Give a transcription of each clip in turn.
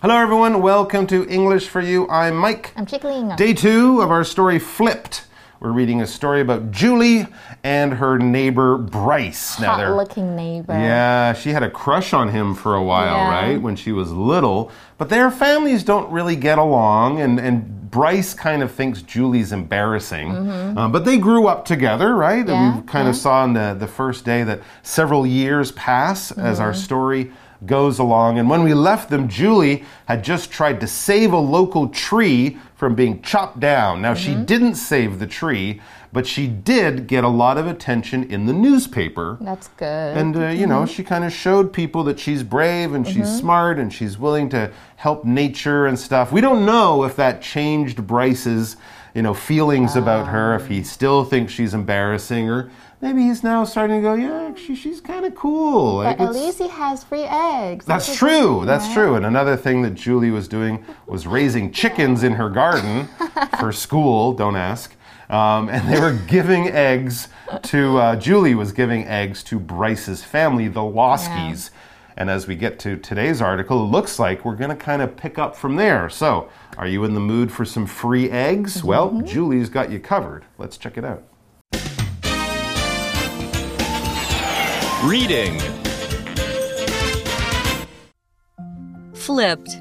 Hello everyone, welcome to English for You. I'm Mike. I'm Chickling. Day 2 of our story Flipped. We're reading a story about Julie and her neighbor Bryce. Hot-looking neighbor. Yeah, she had a crush on him for a while, right? When she was little. But their families don't really get along, and Bryce kind of thinks Julie's embarrassing. But they grew up together, right? Yeah, we kind of saw in the first day that several years pass as our story goes along. And when we left them, Julie had just tried to save a local tree from being chopped down. Now, she didn't save the tree, but she did get a lot of attention in the newspaper. That's good. And, you know, she kind of showed people that she's brave and she's smart and she's willing to help nature and stuff. We don't know if that changed Bryce's, feelings about her, if he still thinks she's embarrassing, or maybe he's now starting to go, yeah, she's kind of cool. But at least he has free eggs. That's true. That's true. And another thing that Julie was doing was raising chickens in her garden for school. Don't ask. And they were giving eggs to, Julie was giving eggs to Bryce's family, the Loskys. Yeah. And as we get to today's article, it looks like we're going to kind of pick up from there. So, are you in the mood for some free eggs? Well, Julie's got you covered. Let's check it out. Reading. Flipped.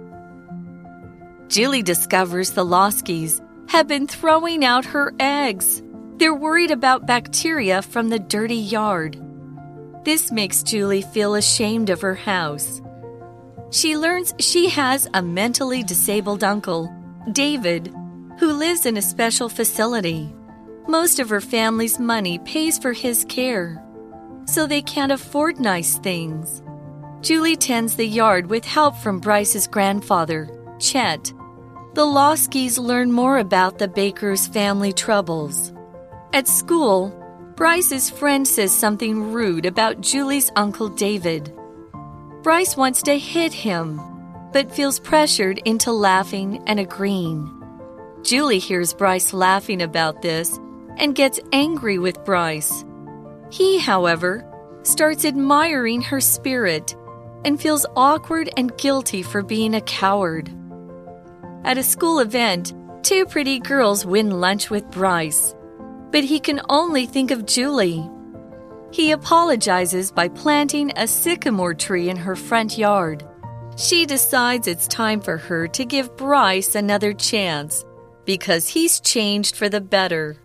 Julie discovers the Loskys have been throwing out her eggs. They're worried about bacteria from the dirty yard. This makes Julie feel ashamed of her house. She learns she has a mentally disabled uncle, David, who lives in a special facility. Most of her family's money pays for his care, so they can't afford nice things. Julie tends the yard with help from Bryce's grandfather, Chet. The Loskys learn more about the Baker's family troubles. At school, Bryce's friend says something rude about Julie's uncle David. Bryce wants to hit him, but feels pressured into laughing and agreeing. Julie hears Bryce laughing about this and gets angry with Bryce. He, however, starts admiring her spirit and feels awkward and guilty for being a coward. At a school event, two pretty girls win lunch with Bryce, but he can only think of Julie. He apologizes by planting a sycamore tree in her front yard. She decides it's time for her to give Bryce another chance because he's changed for the better.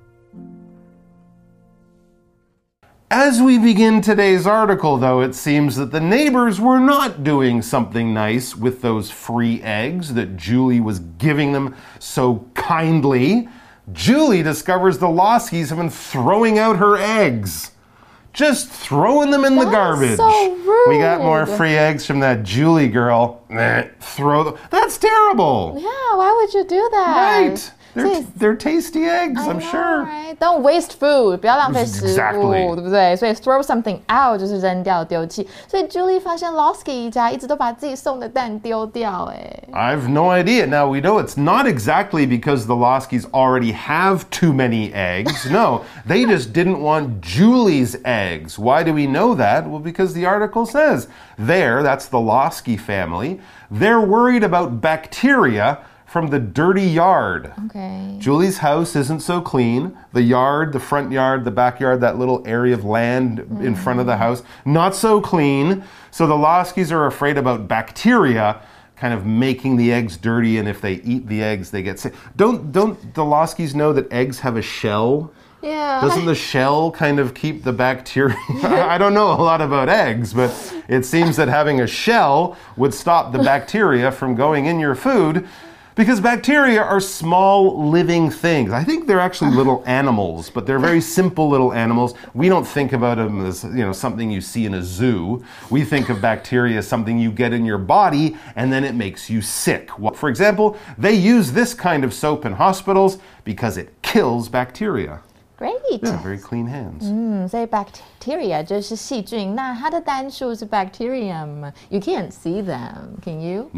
As we begin today's article, though, it seems that the neighbors were not doing something nice with those free eggs that Julie was giving them so kindly. Julie discovers the Loskys have been throwing out her eggs. Just throwing them in the garbage. So rude. We got more free eggs from that Julie girl. Throw them. That's terrible. Yeah, why would you do that? Right. They're tasty eggs, I'm sure. Right? Don't waste food. 不要浪費食物 Exactly. 对不对？所以 throw something out 就是扔掉丢棄。所以 Julie 发现 Losky 一家一直都把自己送的蛋丢掉。 I've no idea. Now, we know it's not exactly because the Loskys already have too many eggs. No, they just didn't want Julie's eggs. Why do we know that? Well, because the article says that's the Losky family, they're worried about bacteria from the dirty yard. Okay. Julie's house isn't so clean. The yard, the front yard, the backyard, that little area of land in front of the house, not so clean. So the Loskys are afraid about bacteria kind of making the eggs dirty, and if they eat the eggs, they get sick. Don't the Loskys know that eggs have a shell? Yeah. Doesn't the shell kind of keep the bacteria? I don't know a lot about eggs, but it seems that having a shell would stop the bacteria from going in your food. Because bacteria are small living things. I think they're actually little animals, but they're very simple little animals. We don't think about them as, something you see in a zoo. We think of bacteria as something you get in your body and then it makes you sick. For example, they use this kind of soap in hospitals because it kills bacteria. Great. Yeah, very clean hands. 所以 bacteria 就是细菌，那它的单数是 bacterium. You can't see them, can you? No.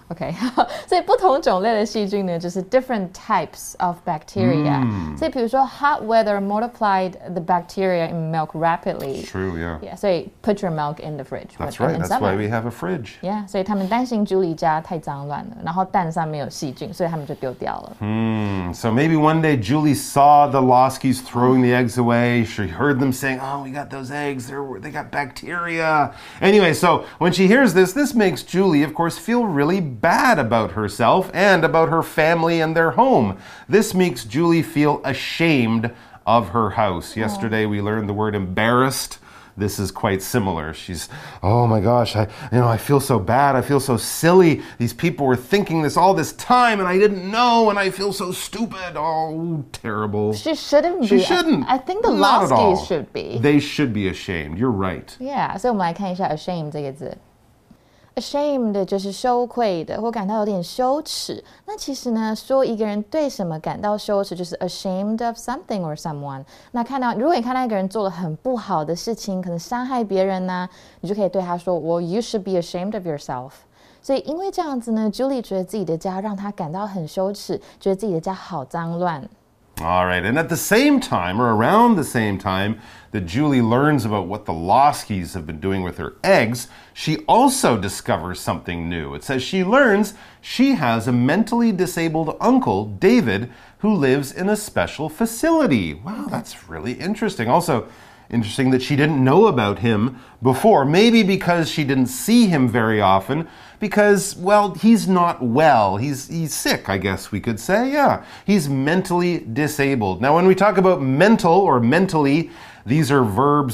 OK， 所以不同種類的細菌呢，就是 different types of bacteria。所以比如說 hot weather multiplied the bacteria in milk rapidly. True, yeah. Yeah, 所以 put your milk in the fridge. That's right. That's why we have a fridge. Yeah, 所以他們擔心 Julie 家太髒亂了，然後蛋上面有細菌，所以他們就丟掉了。 So maybe one day Julie saw the Loskis throwing the eggs away. She heard them saying, "Oh, we got those eggs. They got bacteria." Anyway, so when she hears this makes Julie, of course, feel really bad about herself and about her family and their home. This makes Julie feel ashamed of her house. Yesterday we learned the word embarrassed. This is quite similar. She's, oh my gosh, I feel so bad. I feel so silly. These people were thinking this all this time and I didn't know and I feel so stupid. Oh, terrible. She shouldn't be. She shouldn't. I think the Not at all. Loskis should be. They should be ashamed. You're right. Yeah, 所以我们来看一下 ashamed 这个字。Ashamed 就是羞愧的或感到有点羞恥。那其實呢，說一個人對什麼感到羞恥，就是 ashamed of something or someone。那如果你看到一個人做了很不好的事情，可能傷害別人呢，你就可以對他說 Well, you should be ashamed of yourself。所以因為這樣子呢 ，Julie 覺得自己的家讓她感到很羞恥，覺得自己的家好髒亂。 All right, and at the same time, or around the same time, that Julie learns about what the Loskis have been doing with her eggs, she also discovers something new. It says she learns she has a mentally disabled uncle, David, who lives in a special facility. Wow, that's really interesting. Also, interesting that she didn't know about him before. Maybe because she didn't see him very often. Because, well, he's not well. He's sick, I guess we could say. Yeah, he's mentally disabled. Now, when we talk about mental or mentally, these are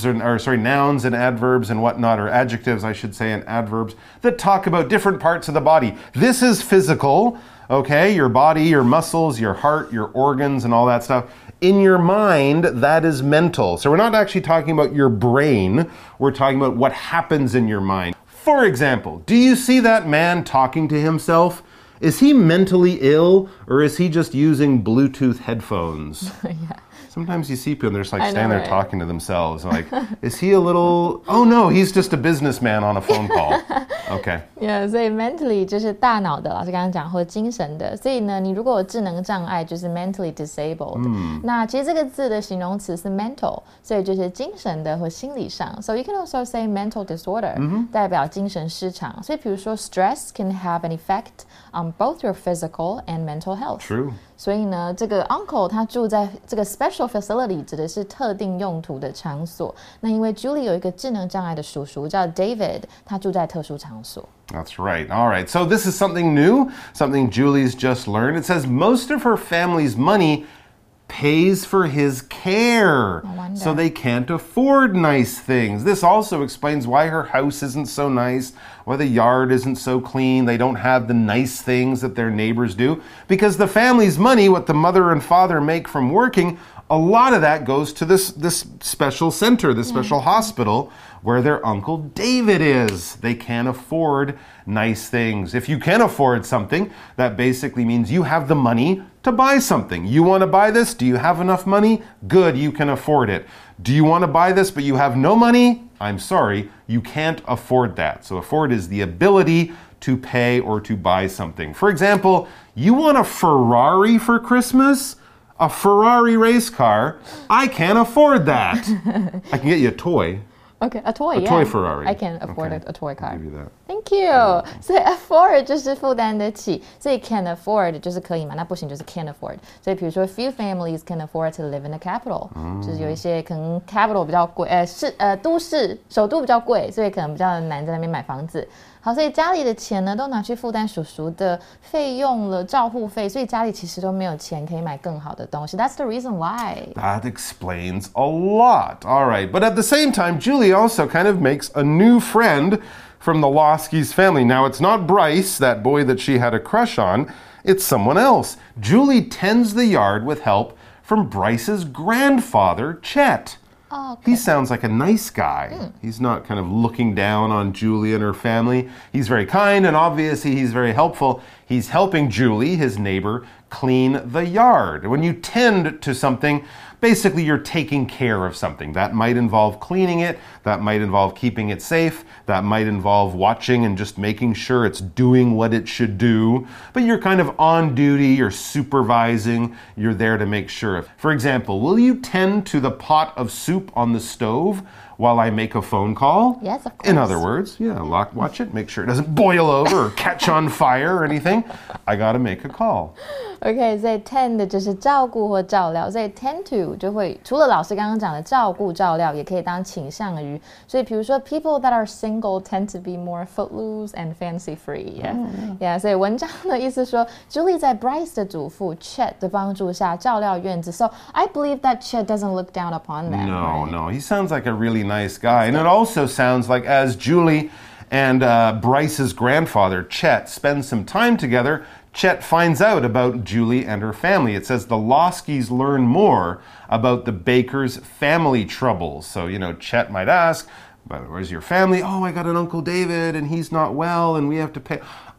nouns and adverbs and whatnot, or adjectives, I should say, and adverbs that talk about different parts of the body. This is physical, okay? Your body, your muscles, your heart, your organs, and all that stuff. In your mind, that is mental. So we're not actually talking about your brain. We're talking about what happens in your mind. For example, do you see that man talking to himself? Is he mentally ill or is he just using Bluetooth headphones? Yeah. Sometimes you see people and they're just like standing there talking to themselves. Like, is he a little... Oh no, he's just a businessman on a phone call. Okay. Yeah, 所以 mentally 就是大腦的，老師剛剛講，或者精神的。所以呢，你如果有智能障礙，就是 mentally disabled。那其實這個字的形容詞是 mental，所以就是精神的或心理上。So you can also say mental disorder，代表精神失常。所以比如說 stress can have an effect on both your physical and mental health. True. 所以呢，这个 uncle 他住在这个 special facility 指的是特定用途的场所。那因为 Julie 有一個智能障礙的叔叔叫 David， 他住在特殊場所。 That's right. All right. So this is something new, something Julie's just learned. It says most of her family's money pays for his care. So they can't afford nice things. This also explains why her house isn't so nice, why the yard isn't so clean. They don't have the nice things that their neighbors do. Because the family's money, what the mother and father make from working, a lot of that goes to this special center, this special hospital where their Uncle David is. They can't afford nice things. If you can afford something, that basically means you have the money to buy something. You want to buy this? Do you have enough money? Good, you can afford it. Do you want to buy this but you have no money? I'm sorry, you can't afford that. So afford is the ability to pay or to buy something. For example, you want a Ferrari for Christmas? A Ferrari race car? I can't afford that. I can get you a toy. Okay, a toy, A toy Ferrari. I can afford a toy car. I'll give you that. Thank you. 所以 afford 就是負擔得起，所以 can afford 就是可以嘛，那不行就是 can't afford。所以比如說 few families can afford to live in the capital，就是有一些可能 capital 比較貴，都市首都比較貴，所以可能比較難在那邊買房子。好，所以家裡的錢呢，都拿去負擔叔叔的費用了，照護費，所以家裡其實都沒有錢可以買更好的東西。That's the reason why. That explains a lot. All right, but at the same time, Julie also kind of makes a new friend from the Loskis family. Now, it's not Bryce, that boy that she had a crush on. It's someone else. Julie tends the yard with help from Bryce's grandfather, Chet. Oh, okay. He sounds like a nice guy. He's not kind of looking down on Julie and her family. He's very kind and obviously he's very helpful. He's helping Julie, his neighbor, clean the yard. When you tend to something, basically you're taking care of something. That might involve cleaning it, that might involve keeping it safe, that might involve watching and just making sure it's doing what it should do. But you're kind of on duty, you're supervising, you're there to make sure. For example, will you tend to the pot of soup on the stove while I make a phone call? Yes, of course. In other words, watch it, make sure it doesn't boil over or catch on fire or anything. I gotta make a call. OK, 所以 tend 就是照顾或照料，所以 tend to 就会除了老師剛剛講的照顧照料，也可以當傾向於。所以比如說 people that are single tend to be more footloose and fancy free. Yeah, 所以文章的意思說 Julie 在 Bryce 的祖父 Chet 的幫助下照料院子。So I believe that Chet doesn't look down upon them. No, he sounds like a really nice guy. And it also sounds like as Julie and Bryce's grandfather, Chet, spend some time together, Chet finds out about Julie and her family. It says the Loskys learn more about the Bakers' family troubles. So, Chet might ask, but where's your family? Oh, I got an Uncle David and he's not well and we have to pay.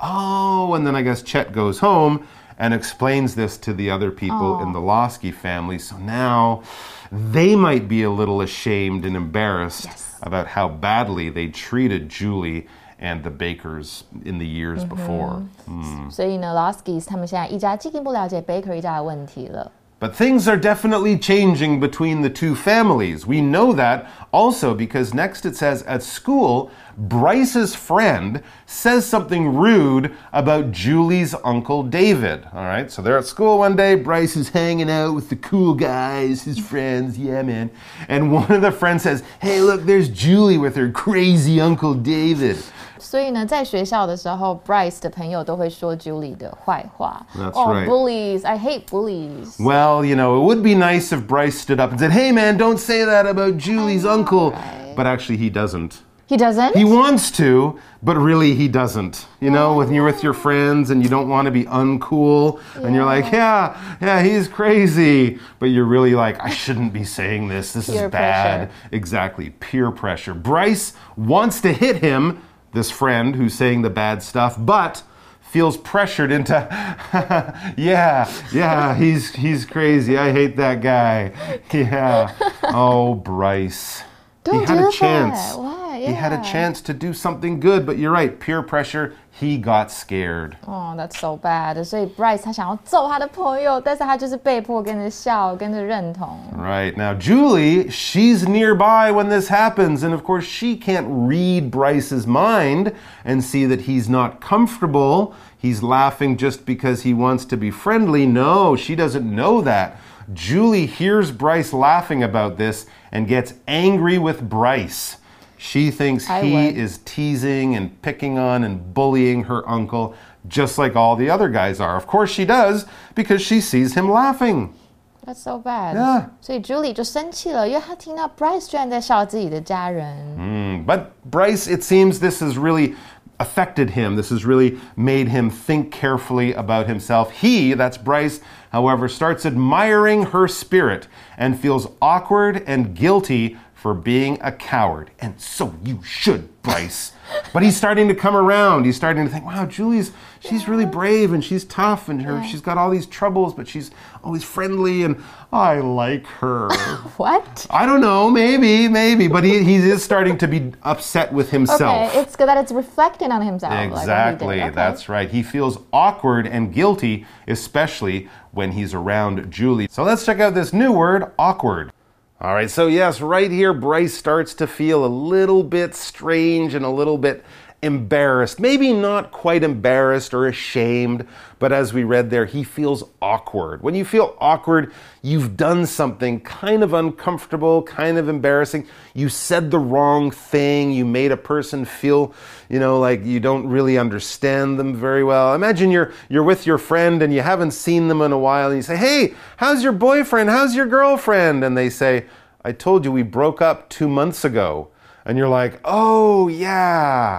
Oh, and then I guess Chet goes home and explains this to the other people in the Losky family. So now they might be a little ashamed and embarrassed about how badly they treated Julie and the Bakers in the years before. 所以呢 Loskys 他们现在一家进一步了解 Baker 一家的問題了。 But things are definitely changing between the two families. We know that also because next it says at school, Bryce's friend says something rude about Julie's Uncle David. All right, so they're at school one day. Bryce is hanging out with the cool guys, his friends. Yeah, man. And one of the friends says, hey, look, there's Julie with her crazy Uncle David. 所以呢，在学校的时候 Bryce 的朋友都会說 Julie 的壞話。 That's right. Bullies. I hate bullies. Well, it would be nice if Bryce stood up and said, hey, man, don't say that about Julie's uncle. Right? But actually, he doesn't. He doesn't? He wants to, but really he doesn't. When you're with your friends and you don't want to be uncool and you're like, yeah, he's crazy. But you're really like, I shouldn't be saying this. This is bad. Pressure. Exactly. Peer pressure. Bryce wants to hit him, this friend who's saying the bad stuff, but feels pressured into, yeah, he's crazy. I hate that guy. Yeah. Oh, Bryce. Don't he had do a chance. That. Why? Yeah. He had a chance to do something good, but you're right, peer pressure, he got scared. Oh, that's so bad. 所以 Bryce 他想要揍他的朋友，但是他就是被迫跟着笑，跟着認同。 Right. Now, Julie, she's nearby when this happens, and of course, she can't read Bryce's mind and see that he's not comfortable. He's laughing just because he wants to be friendly. No, she doesn't know that. Julie hears Bryce laughing about this and gets angry with Bryce. She thinks he is teasing and picking on and bullying her uncle, just like all the other guys are. Of course she does, because she sees him laughing. That's so bad. Yeah. 所以 Julie 就生氣了，因为她听到 Bryce 居然在笑自己的家人。 But Bryce, it seems this has really affected him. This has really made him think carefully about himself. He, that's Bryce, however, starts admiring her spirit and feels awkward and guilty for being a coward. And so you should, Bryce. But he's starting to come around. He's starting to think, wow, she's really brave and she's tough and she's got all these troubles, but she's always friendly and I like her. What? I don't know, maybe, but he is starting to be upset with himself. Okay, it's good that it's reflecting on himself. Exactly, like that's right. He feels awkward and guilty, especially when he's around Julie. So let's check out this new word, awkward. All right, so yes, right here, Bryce starts to feel a little bit strange and a little bit embarrassed. Maybe not quite embarrassed or ashamed, but as we read there, he feels awkward. When you feel awkward, you've done something kind of uncomfortable, kind of embarrassing. You said the wrong thing. You made a person feel, like you don't really understand them very well. Imagine you're with your friend and you haven't seen them in a while and you say, hey, how's your boyfriend? How's your girlfriend? And they say, I told you we broke up 2 months ago. And you're like, oh, yeah.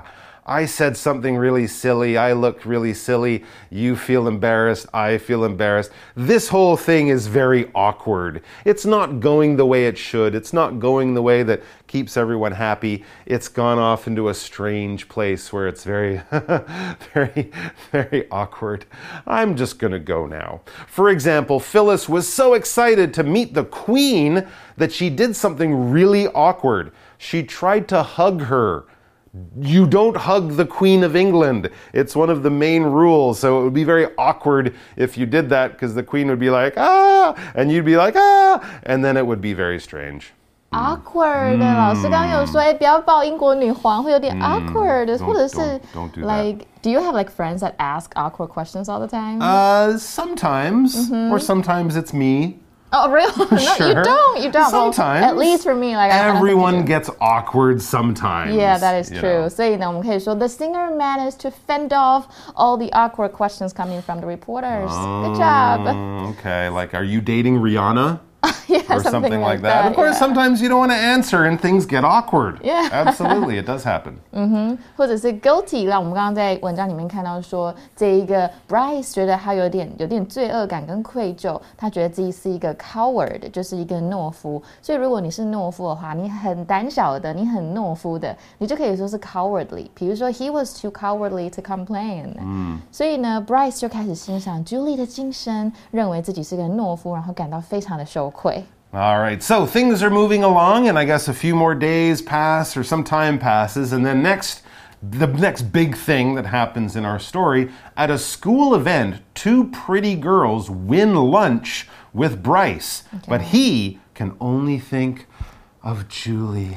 I said something really silly. I looked really silly. You feel embarrassed. I feel embarrassed. This whole thing is very awkward. It's not going the way it should. It's not going the way that keeps everyone happy. It's gone off into a strange place where it's very, very, very awkward. I'm just going to go now. For example, Phyllis was so excited to meet the Queen that she did something really awkward. She tried to hug her. You don't hug the Queen of England. It's one of the main rules. So it would be very awkward if you did that because the Queen would be like, ah, and you'd be like, ah, and then it would be very strange. Awkward. 老師剛剛有說，不要抱英國女皇，會有點 awkward， 或者是 don't do like, do you have like friends that ask awkward questions all the time? Sometimes, or sometimes it's me. Oh, really? No, Sure. You don't. Sometimes. Well, at least for me, like everyone gets awkward sometimes. Yeah, that is true. 所以呢，我们可以说 the singer managed to fend off all the awkward questions coming from the reporters. Good job. Okay, like, are you dating Rihanna? Yeah, or something like that. Of course, sometimes you don't want to answer and things get awkward. Yeah. Absolutely, it does happen. 或者是 guilty， 让我们刚刚在文章里面看到说，这一个 Bryce 觉得他有点罪惡感跟愧疚，他覺得自己是一個 coward， 就是一個懦夫。所以如果你是懦夫的話，你很膽小的，你很懦夫的，你就可以說是 cowardly。比如說 he was too cowardly to complain。所以呢 Bryce 就開始欣賞 Julie 的精神，認為自己是個懦夫，然後感到非常的羞愧。 All right, so things are moving along, and I guess a few more days pass or some time passes, and then the next big thing that happens in our story, at a school event, 2 pretty girls win lunch with Bryce, but he can only think of Julie.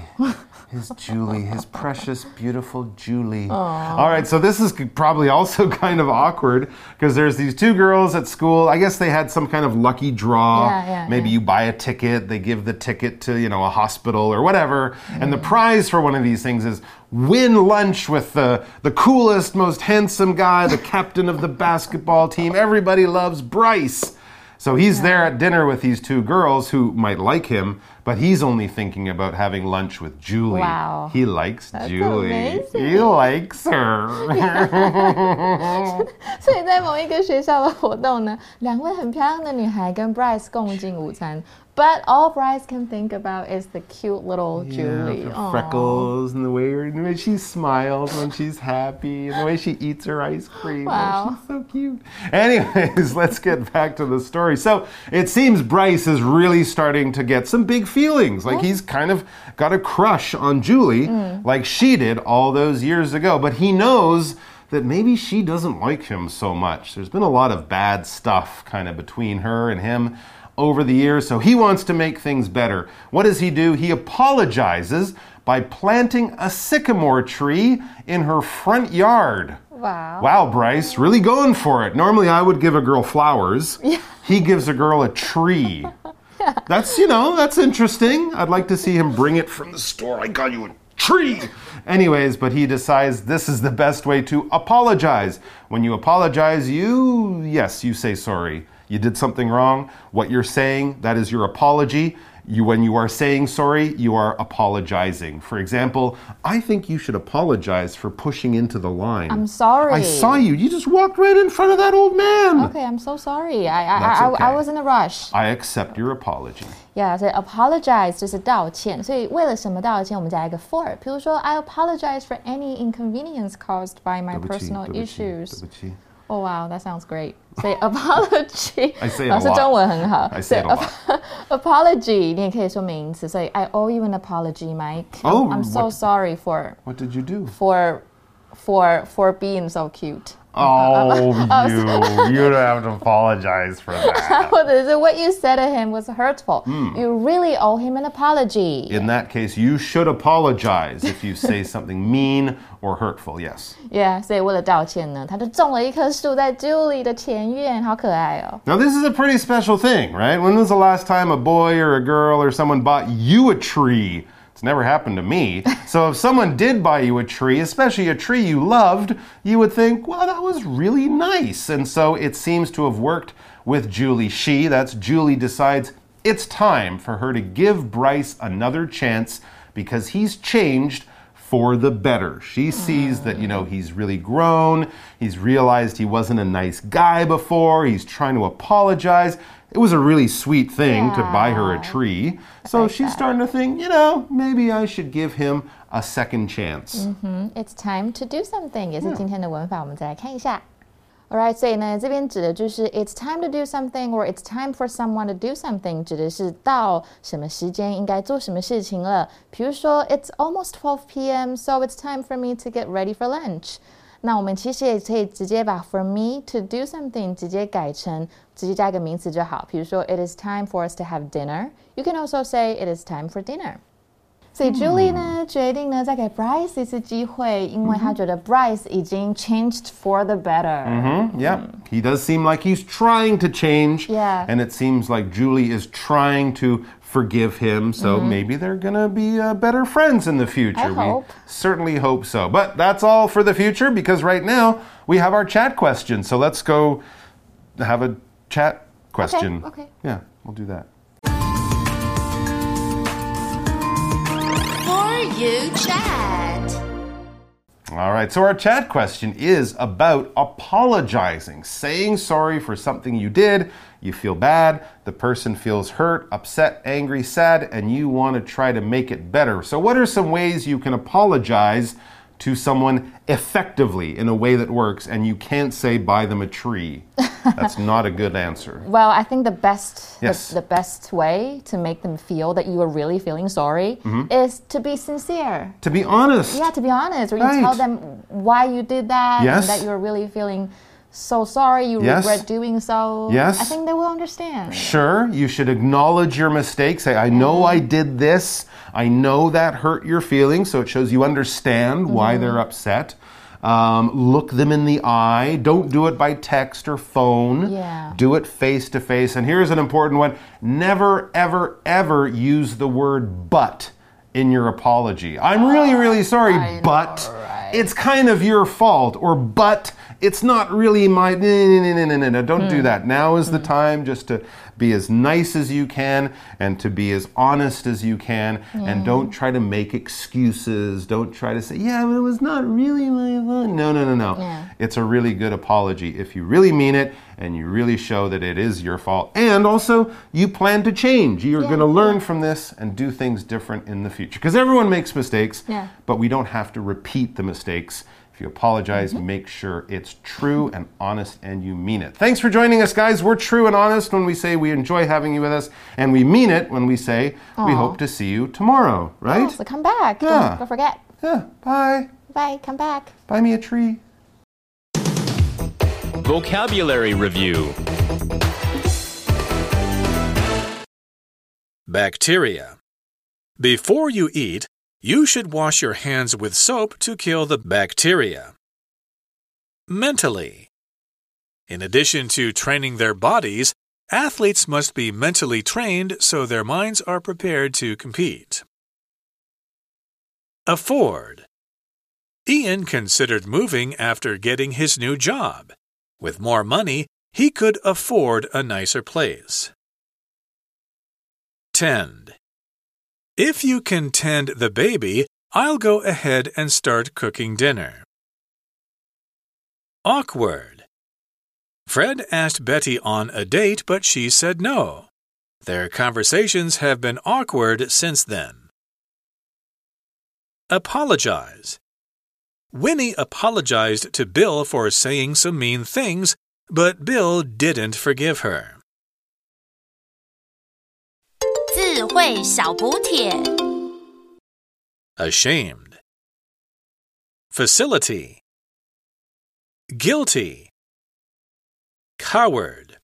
His precious, beautiful Julie. Aww. All right, so this is probably also kind of awkward because there's these 2 girls at school. I guess they had some kind of lucky draw. Maybe you buy a ticket, they give the ticket to, a hospital or whatever. And the prize for one of these things is win lunch with the coolest, most handsome guy, the captain of the basketball team. Everybody loves Bryce. So he's there at dinner with these 2 girls who might like him, but he's only thinking about having lunch with Julie. Wow. He likes That's Julie. Amazing. He likes her. 所以在某一個學校的活動呢，2位很漂亮的女孩跟 Bryce 共進午餐。But all Bryce can think about is the cute little Julie. The freckles and the way she smiles when she's happy and the way she eats her ice cream. Wow. Oh, she's so cute. Anyways, let's get back to the story. So it seems Bryce is really starting to get some big feelings. Like he's kind of got a crush on Julie like she did all those years ago. But he knows that maybe she doesn't like him so much. There's been a lot of bad stuff kind of between her and him over the years, so he wants to make things better. What does he do? He apologizes by planting a sycamore tree in her front yard. Wow. Wow, Bryce, really going for it. Normally I would give a girl flowers. Yeah. He gives a girl a tree. That's, that's interesting. I'd like to see him bring it from the store. I got you a tree. Anyways, but he decides this is the best way to apologize. When you apologize, you say sorry. You did something wrong. What you're saying, that is your apology. When you are saying sorry, you are apologizing. For example, I think you should apologize for pushing into the line. I'm sorry. I saw you. You just walked right in front of that old man. Okay, I'm so sorry. That's okay. I was in a rush. I accept your apology. Yeah, 所以 apologize 就是道歉。所以为了什麼道歉，我們加一個 for。比如說 I apologize for any inconvenience caused by my personal issues. 對不起。 Oh wow, that sounds great. Say apology. I say it a lot. 老師中文很好。 I say it a lot. Apology 你也可以說名詞，所以 I owe you an apology, Mike. Oh, I'm so sorry for. What did you do? For being so cute. Oh, you don't have to apologize for that. 或者是 what you said to him was hurtful. You really owe him an apology. In that case, you should apologize if you say something mean or hurtful, yes. Yeah, 所以為了道歉呢，他就種了一棵樹在 Julie 的前院，好可愛哦。 Now, this is a pretty special thing, right? When was the last time a boy or a girl or someone bought you a tree? It's never happened to me. So if someone did buy you a tree, especially a tree you loved, you would think, well, that was really nice. And so it seems to have worked with Julie. That's Julie, decides it's time for her to give Bryce another chance because he's changed for the better. She sees that, he's really grown. He's realized he wasn't a nice guy before. He's trying to apologize. It was a really sweet thing to buy her a tree. So she's starting to think, maybe I should give him a second chance. It's time to do something 也是今天的文法，我们再来看一下。Alright, 所以呢，这边指的就是 it's time to do something or it's time for someone to do something 指的是到什麼時間應該做什麼事情了。比如說 it's almost 12 p.m. so it's time for me to get ready for lunch. 那我們其實也可以直接把 for me to do something 直接改成直接加一個名詞就好。比如說 it is time for us to have dinner. You can also say it is time for dinner. 所以 Julie 呢決定呢再給 Bryce 一次機會，因為他覺得 Bryce 已經 changed for the better. Yeah, he does seem like he's trying to change. Yeah. And it seems like Julie is trying to forgive him. So maybe they're going to be better friends in the future. I hope. We certainly hope so. But that's all for the future because right now we have our chat question. So let's go have a chat question. Okay. Yeah, we'll do that. You chat. All right, so our chat question is about apologizing, saying sorry for something you did. You feel bad, the person feels hurt, upset, angry, sad, and you want to try to make it better. So what are some ways you can apologize to someone effectively in a way that works and you can't say buy them a tree? That's not a good answer. Well, I think the best Yes. the best way to make them feel that you are really feeling sorry is to be sincere. To be honest. Yeah, to be honest, or you Right. tell them why you did that Yes. and that you're really feeling so sorry, you Yes. regret doing so. Yes. I think they will understand. Sure, you should acknowledge your mistake. Say, I know I did this. I know that hurt your feelings, so it shows you understand why they're upset. Look them in the eye. Don't do it by text or phone. Yeah. Do it face to face. And here's an important one. Never, ever, ever use the word but in your apology. I'm really, really sorry, but it's kind of your fault. Or but it's not really my... No. Don't do that. Now is the time just to be as nice as you can and to be as honest as you can. And don't try to make excuses. Don't try to say, yeah, but it was not really my fault. No. Yeah. It's a really good apology if you really mean it and you really show that it is your fault. And also, you plan to change. You're going to learn from this and do things different in the future. Because everyone makes mistakes, but we don't have to repeat the mistakes. If you apologize, make sure it's true and honest and you mean it. Thanks for joining us, guys. We're true and honest when we say we enjoy having you with us, and we mean it when we say we hope to see you tomorrow, right? Oh, so come back. Yeah. Don't forget. Yeah, bye. Bye, come back. Buy me a tree. Vocabulary Review. Bacteria. Before you eat, you should wash your hands with soap to kill the bacteria. Mentally. In addition to training their bodies, athletes must be mentally trained so their minds are prepared to compete. Afford. Ian considered moving after getting his new job. With more money, he could afford a nicer place. Tend. If you can tend the baby, I'll go ahead and start cooking dinner. Awkward. Fred asked Betty on a date, but she said no. Their conversations have been awkward since then. Apologize. Winnie apologized to Bill for saying some mean things, but Bill didn't forgive her. 智慧小補帖 Ashamed. Facility. Guilty. Coward.